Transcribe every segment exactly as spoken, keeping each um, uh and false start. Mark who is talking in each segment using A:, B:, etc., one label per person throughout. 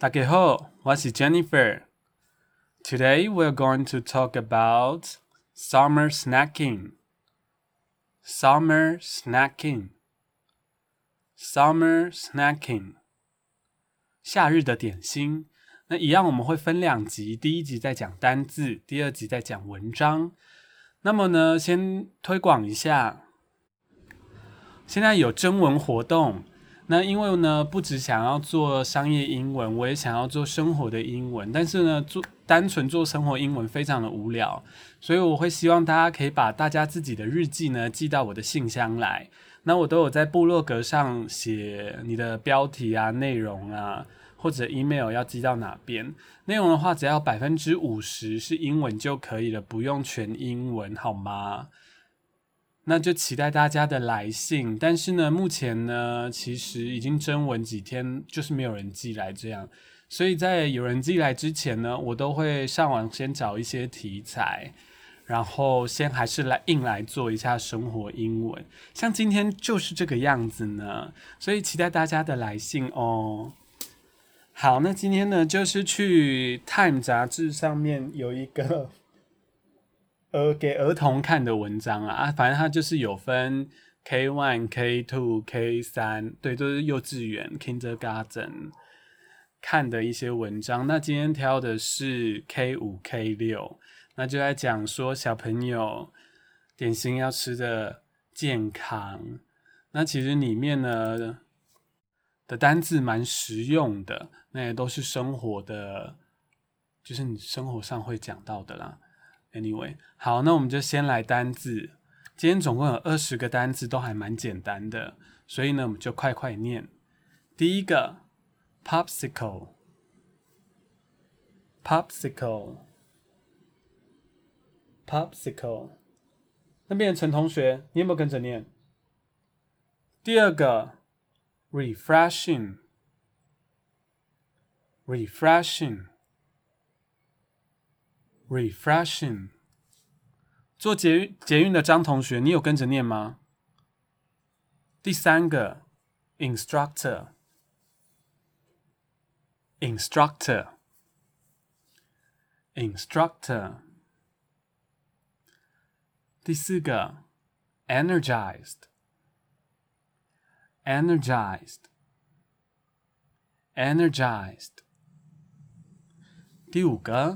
A: 大家好，我是 Jennifer. Today we're going to talk about summer snacking. Summer snacking. Summer snacking. 夏日的点心。那一样我们会分两集，第一集在讲单字，第二集在讲文章。那么呢，先推广一下，现在有征文活动。那因为呢，不只想要做商业英文，我也想要做生活的英文。但是呢，做单纯做生活英文非常的无聊，所以我会希望大家可以把大家自己的日记呢寄到我的信箱来。那我都有在部落格上写你的标题啊、内容啊，或者 email 要寄到哪边。内容的话，只要百分之五十是英文就可以了，不用全英文，好吗？那就期待大家的来信，但是呢，目前呢，其实已经征文几天，就是没有人寄来这样，所以在有人寄来之前呢，我都会上网先找一些题材，然后先还是来硬来做一下生活英文，像今天就是这个样子呢，所以期待大家的来信哦。好，那今天呢，就是去 Time 杂志上面有一个。呃，给儿童看的文章啊，啊反正它就是有分 K 一、K 二、K 三，对，都是幼稚园 Kindergarten 看的一些文章。那今天挑的是 K 五、K 六，那就在讲说小朋友点心要吃的健康。那其实里面呢的单字蛮实用的，那也都是生活的，就是你生活上会讲到的啦。Anyway， 好，那我们就先来单字。今天总共有二十个单字，都还蛮简单的，所以呢，我们就快快念。第一个 ，popsicle，popsicle，popsicle， 那边的陈同学，你有没有跟着念？第二个 ，refreshing，refreshing，refreshing。做捷捷运的张同学，你有跟着念吗？第三个 ，instructor，instructor，instructor。第四个 energized，energized，energized。第五个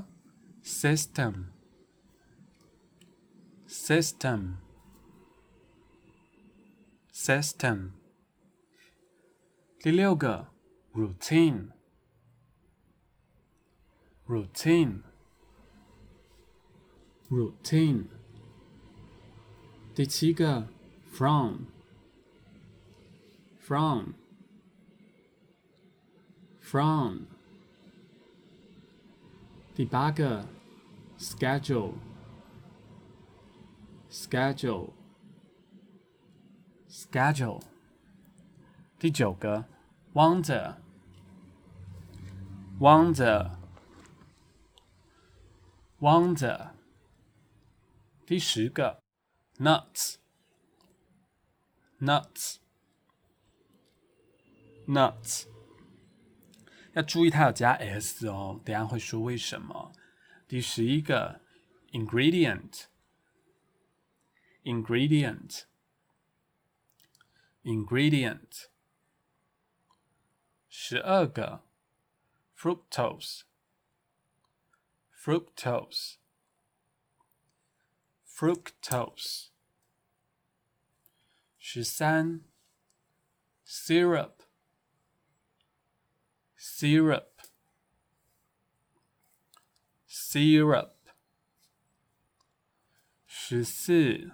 A: system。System, system。第六个 routine, routine, routine。第七个 from, from, from。第八个 schedule。Schedule, schedule。第九个 wonder, wonder, wonder。第十个 nuts, nuts, nuts。要注意它有加 s 哦，等一下会说为什么。第十一个 ingredient。Ingredient, ingredient。十二个 fructose, fructose, fructose。十三 syrup, syrup, syrup。十四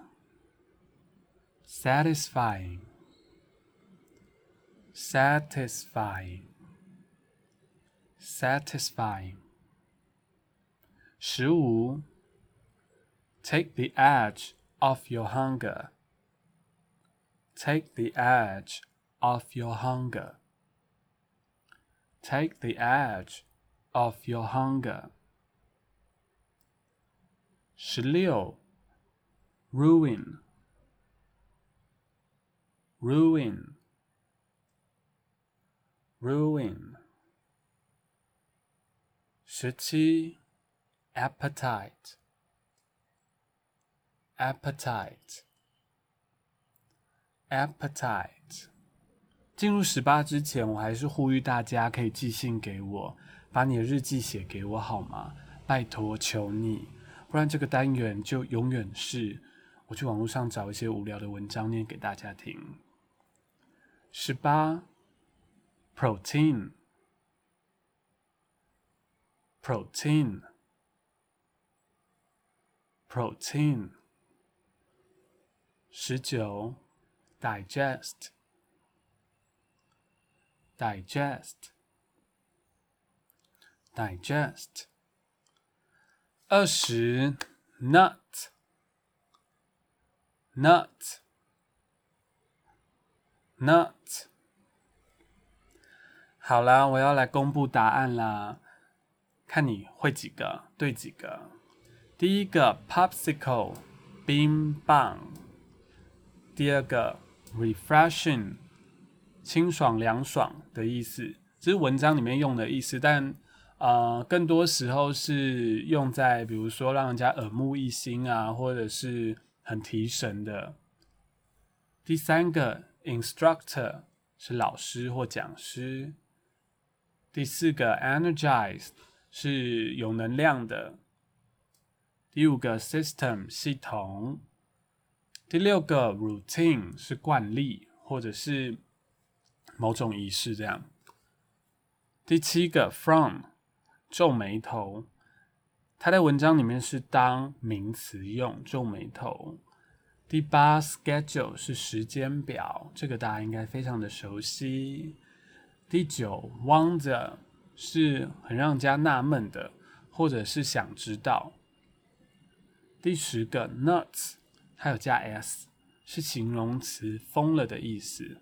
A: satisfying, satisfying, satisfying。十五 take the edge off your hunger, take the edge off your hunger, take the edge off your hunger。十六 ruin, ruin, ruin。 十七 appetite appetite appetite。进入十八之前，我还是呼吁大家可以寄信给我，把你的日记写给我好吗？拜托，求你，不然这个单元就永远是我去网络上找一些无聊的文章念给大家听。十八 protein protein protein。十九 digest digest digest。二十 nut nut nut。好啦，我要来公布答案啦，看你会几个，对几个。第一个 popsicle 冰棒，第二个 refreshing 清爽凉爽的意思，这是文章里面用的意思，但呃更多时候是用在比如说让人家耳目一新啊，或者是很提神的。第三个 instructor 是老师或讲师。第四个 energize 是有能量的。第五个 system 系统。第六个 routine 是惯例或者是某种仪式这样。第七个 from 皱眉头，它在文章里面是当名词用，皱眉头。第八 schedule 是时间表，这个大家应该非常的熟悉。第九 wonder 是很让人家纳闷的，或者是想知道。第十个 nuts 它有加 s， 是形容词疯了的意思。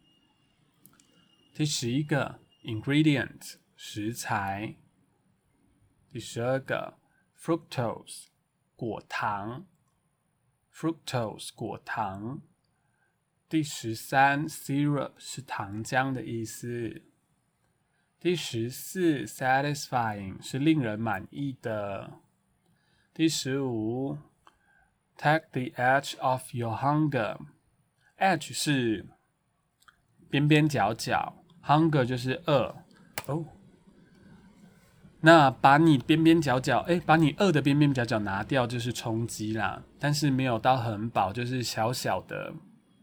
A: 第十一个 ingredient 食材。第十二个 fructose 果糖 fructose 果糖。第十三 syrup 是糖浆的意思。第十四 satisfying 是令人满意的。第十五 take the edge off your hunger， edge 是边边角角， hunger 就是饿哦。那把你边边角角，哎，把你饿的边边角角拿掉就是充饥啦，但是没有到很饱，就是小小的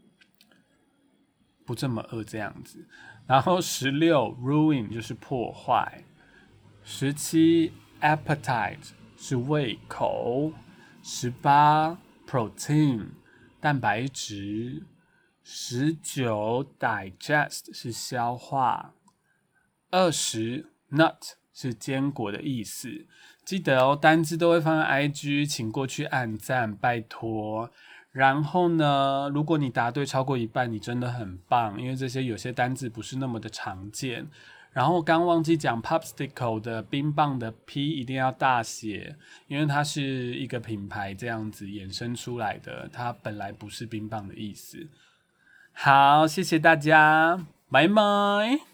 A: 不这么饿这样子。然后十六 ruin 就是破坏。十七 appetite 是胃口。十八 protein 蛋白质。十九 digest 是消化。二十 nut 是坚果的意思。记得哦，单字都会放在 I G， 请过去按赞，拜托。然后呢，如果你答对超过一半，你真的很棒，因为这些有些单字不是那么的常见。然后刚忘记讲 popsicle 的冰棒的 P 一定要大写，因为它是一个品牌这样子衍生出来的，它本来不是冰棒的意思。好，谢谢大家，拜拜。